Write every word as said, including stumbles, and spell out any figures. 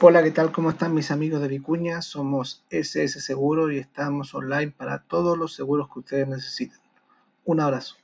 Hola, ¿qué tal? ¿Cómo están mis amigos de Vicuña? Somos S S Seguro y estamos online para todos los seguros que ustedes necesiten. Un abrazo.